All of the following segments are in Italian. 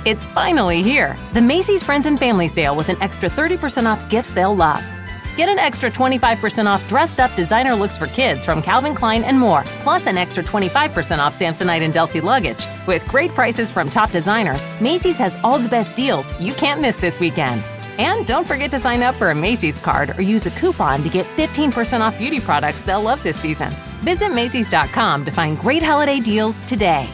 It's finally here. The Macy's Friends and Family Sale with an extra 30% off gifts they'll love. Get an extra 25% off dressed-up designer looks for kids from Calvin Klein and more, plus an extra 25% off Samsonite and Delsey luggage. With great prices from top designers, Macy's has all the best deals you can't miss this weekend. And don't forget to sign up for a Macy's card or use a coupon to get 15% off beauty products they'll love this season. Visit Macys.com to find great holiday deals today.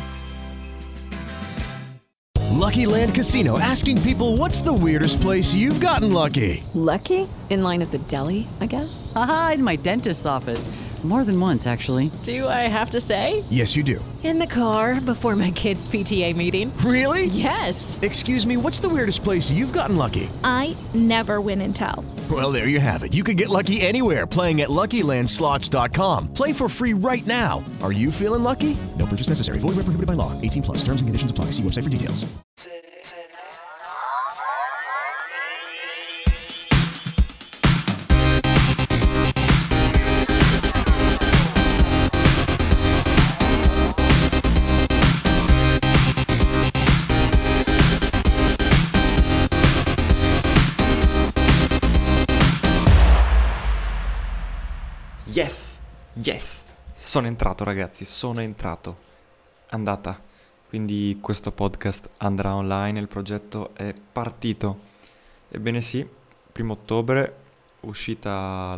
Lucky Land Casino, asking people, what's the weirdest place you've gotten lucky? Lucky? In line at the deli, I guess? Aha, in my dentist's office. More than once, actually. Do I have to say? Yes, you do. In the car before my kids' PTA meeting. Really? Yes. Excuse me, what's the weirdest place you've gotten lucky? I never win and tell. Well, there you have it. You can get lucky anywhere, playing at LuckyLandSlots.com. Play for free right now. Are you feeling lucky? No purchase necessary. Void where prohibited by law. 18 plus. Terms and conditions apply. See website for details. Yes, sono entrato ragazzi, andata, quindi questo podcast andrà online, il progetto è partito. Ebbene sì, 1 ottobre, uscita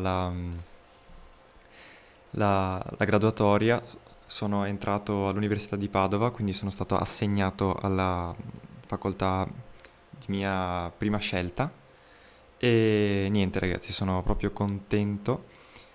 la graduatoria, sono entrato all'Università di Padova, quindi sono stato assegnato alla facoltà di mia prima scelta e niente ragazzi, sono proprio contento.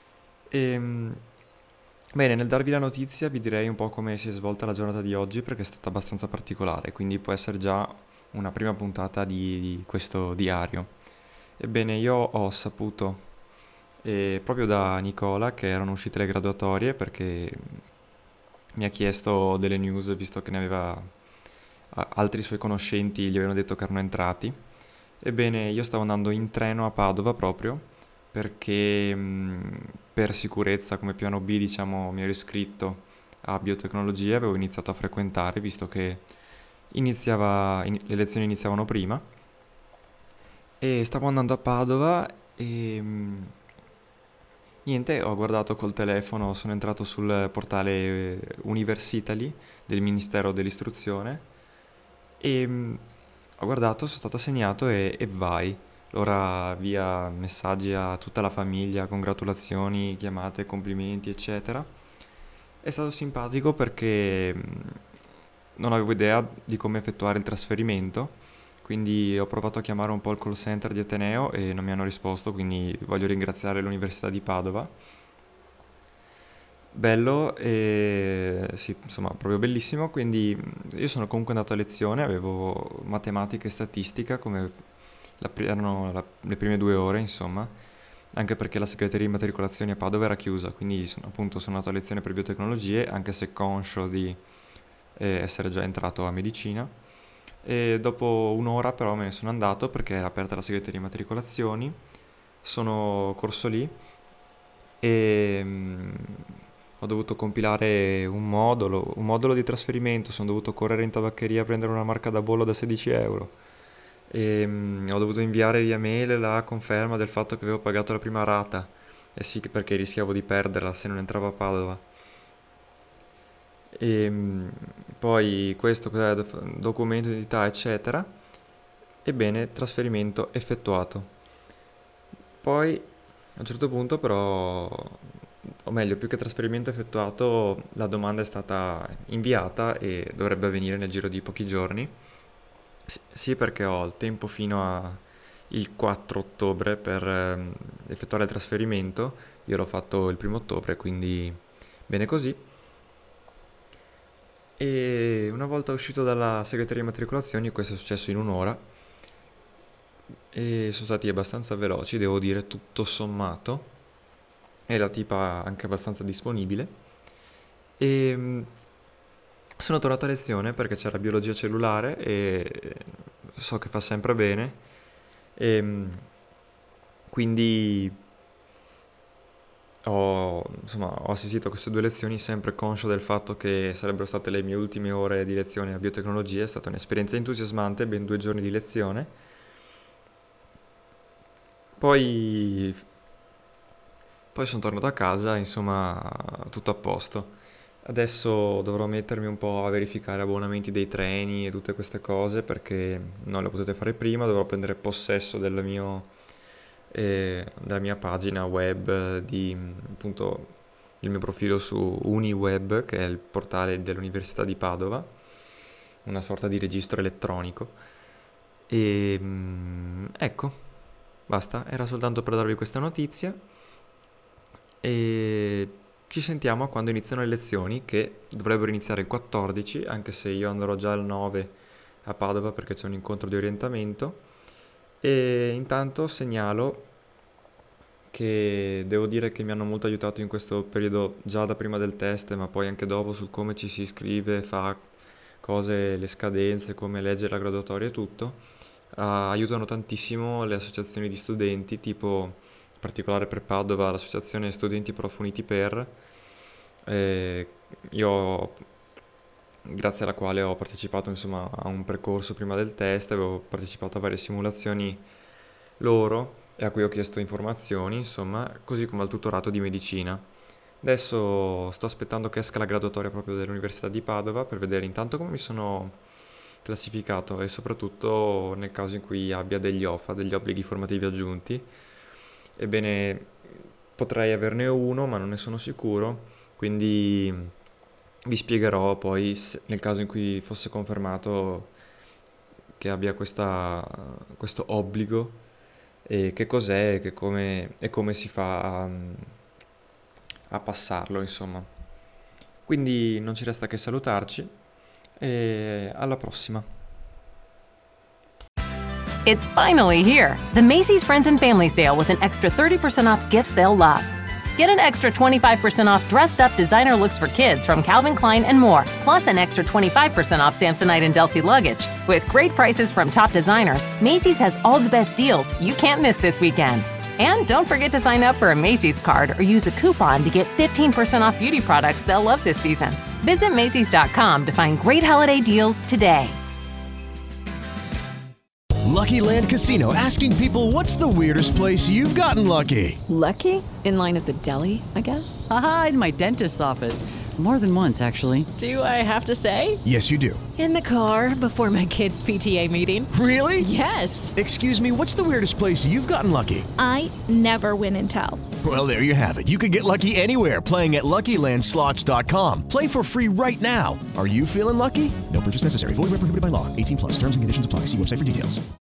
Bene, nel darvi la notizia vi direi un po' come si è svolta la giornata di oggi perché è stata abbastanza particolare, quindi può essere già una prima puntata di questo diario. Ebbene, io ho saputo proprio da Nicola che erano uscite le graduatorie perché mi ha chiesto delle news visto che ne aveva altri suoi conoscenti gli avevano detto che erano entrati. Ebbene, io stavo andando in treno a Padova proprio perché per sicurezza come piano B, diciamo, mi ero iscritto a biotecnologia, avevo iniziato a frequentare visto che le lezioni iniziavano prima e stavo andando a Padova e niente, ho guardato col telefono, sono entrato sul portale Universitaly del Ministero dell'Istruzione e ho guardato, sono stato assegnato e vai. Allora via messaggi a tutta la famiglia, congratulazioni, chiamate, complimenti, eccetera. È stato simpatico perché non avevo idea di come effettuare il trasferimento, quindi ho provato a chiamare un po' il call center di Ateneo e non mi hanno risposto, quindi voglio ringraziare l'Università di Padova. Bello e sì, insomma, proprio bellissimo, quindi io sono comunque andato a lezione, avevo matematica e statistica come erano le prime 2 ore, insomma, anche perché la segreteria di immatricolazioni a Padova era chiusa, quindi sono andato a lezione per biotecnologie, anche se conscio di essere già entrato a medicina. E dopo 1 ora però me ne sono andato perché era aperta la segreteria di immatricolazioni, sono corso lì e ho dovuto compilare un modulo di trasferimento, sono dovuto correre in tabaccheria a prendere una marca da bollo da 16 euro. E ho dovuto inviare via mail la conferma del fatto che avevo pagato la prima rata e sì, perché rischiavo di perderla se non entravo a Padova. E poi questo cos'è, documento di identità eccetera. Ebbene, trasferimento effettuato. Poi a un certo punto però, o meglio, più che trasferimento effettuato, la domanda è stata inviata e dovrebbe avvenire nel giro di pochi giorni. Sì, perché ho il tempo fino al 4 ottobre per effettuare il trasferimento. Io l'ho fatto il 1 ottobre, quindi bene così. E una volta uscito dalla segreteria di immatricolazioni, questo è successo in 1 ora e sono stati abbastanza veloci, devo dire, tutto sommato, e la tipa anche abbastanza disponibile. E sono tornato a lezione perché c'era biologia cellulare e so che fa sempre bene e quindi ho assistito a queste 2 lezioni sempre conscio del fatto che sarebbero state le mie ultime ore di lezione a biotecnologia. È stata un'esperienza entusiasmante, ben 2 giorni di lezione. Poi sono tornato a casa, insomma, tutto a posto. Adesso dovrò mettermi un po' a verificare abbonamenti dei treni e tutte queste cose perché non le potete fare prima. Dovrò prendere possesso della mia pagina web, appunto, il mio profilo su UniWeb, che è il portale dell'Università di Padova, una sorta di registro elettronico. E ecco, basta, era soltanto per darvi questa notizia. E ci sentiamo quando iniziano le lezioni, che dovrebbero iniziare il 14, anche se io andrò già il 9 a Padova perché c'è un incontro di orientamento. E intanto segnalo che devo dire che mi hanno molto aiutato in questo periodo, già da prima del test, ma poi anche dopo, sul come ci si iscrive, fa cose, le scadenze, come leggere la graduatoria e tutto. Aiutano tantissimo le associazioni di studenti, tipo in particolare per Padova l'associazione Studenti Prof Uniti Per, io grazie alla quale ho partecipato, insomma, a un percorso prima del test, avevo partecipato a varie simulazioni loro e a cui ho chiesto informazioni, insomma, così come al tutorato di medicina. Adesso sto aspettando che esca la graduatoria proprio dell'Università di Padova per vedere intanto come mi sono classificato e soprattutto nel caso in cui abbia degli OFA, degli obblighi formativi aggiunti. Ebbene, potrei averne uno, ma non ne sono sicuro, quindi vi spiegherò poi nel caso in cui fosse confermato che abbia questo obbligo e che cos'è e come si fa a passarlo, insomma. Quindi non ci resta che salutarci e alla prossima. It's finally here, the Macy's Friends and Family Sale with an extra 30% off gifts they'll love. Get an extra 25% off dressed-up designer looks for kids from Calvin Klein and more, plus an extra 25% off Samsonite and Delsey luggage. With great prices from top designers, Macy's has all the best deals you can't miss this weekend. And don't forget to sign up for a Macy's card or use a coupon to get 15% off beauty products they'll love this season. Visit Macys.com to find great holiday deals today. Lucky Land Casino, asking people, what's the weirdest place you've gotten lucky? Lucky? In line at the deli, I guess? Aha, in my dentist's office. More than once, actually. Do I have to say? Yes, you do. In the car before my kids' PTA meeting. Really? Yes. Excuse me, what's the weirdest place you've gotten lucky? I never win and tell. Well, there you have it. You can get lucky anywhere, playing at LuckyLandSlots.com. Play for free right now. Are you feeling lucky? No purchase necessary. Void where prohibited by law. 18+. Terms and conditions apply. See website for details.